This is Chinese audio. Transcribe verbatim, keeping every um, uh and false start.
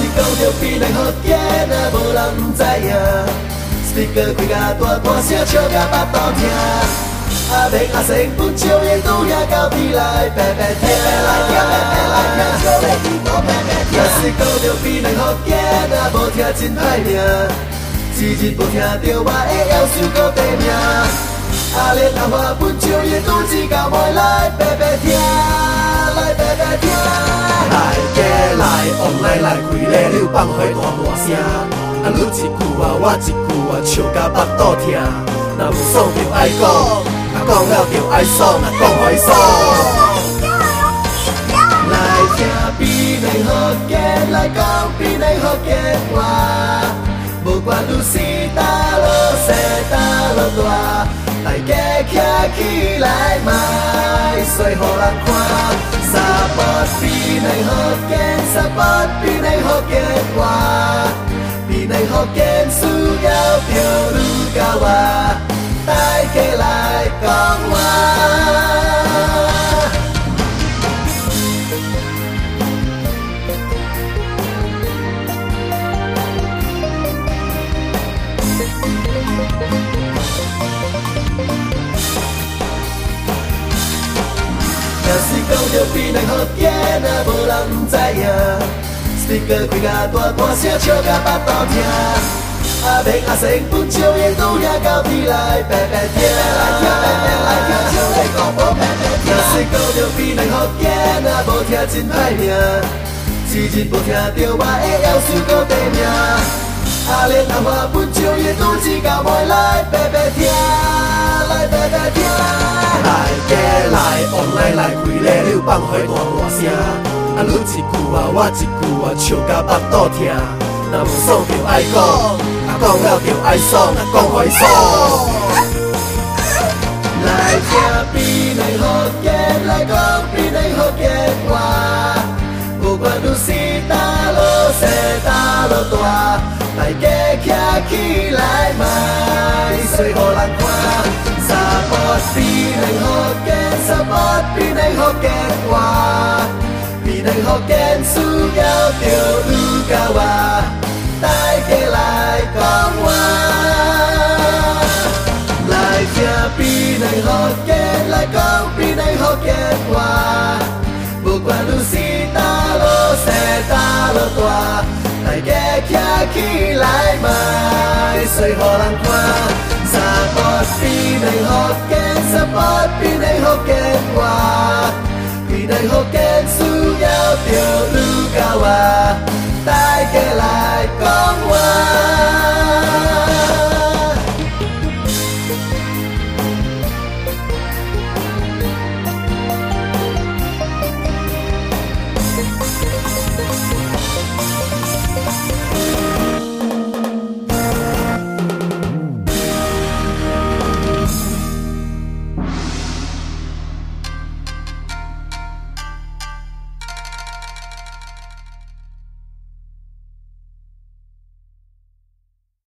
讲着比咱好见啊，无人毋知影。Speaker 开甲大大声，笑甲巴肚疼。阿明阿生本少爷拄也到边来白白听，来听白白来听，少爷耳朵白白听。若是讲着比咱好见啊，无听真歹命。一日无听着我的夭寿搁地命。阿莲阿花本少爷拄只到尾来白白听，来白白听。来家来往来来开咧，你有放火大大声。啊，你一句啊，我一句啊，笑甲巴肚疼。若无爽就爱讲，啊讲了就爱爽，啊讲互伊爽。来听比咱福建，来讲比咱福建话。无管你是大路小大路大，大家徛起来卖，随互人看。三八比咱福建，三八比咱福建话。比咱福建需要着你甲我，大家来讲话。若是讲着比咱福建啊，无人毋知影。Speaker 开甲大大声，笑甲巴肚疼。阿明阿生本少爷拄也到边来白白听，来听白白来听，少爷讲无白白听。若是讲着比咱福建啊，无听真歹命。一日无听着我的夭寿搁地命。阿莲阿花本少爷拄只到尾来白白听，来白白听。来家来往来来开咧，你有放火大大声。啊，你一句啊，我一句啊，笑甲巴肚疼。若无爽就爱讲，啊讲了就爱爽，啊讲互伊爽。来听比咱福建，来讲比咱福建话。无管你是大路小大路大，大家徛起来卖，随互人看。三八比咱福建，三八比咱福建话。比咱福建需要着你甲我，大家来讲话。来听比咱福建，来讲比咱福建话。无管你是大路小大路大，大家徛起来卖，随互人看。三八比咱福建，三八比咱福建话。比咱福建需要着你甲我。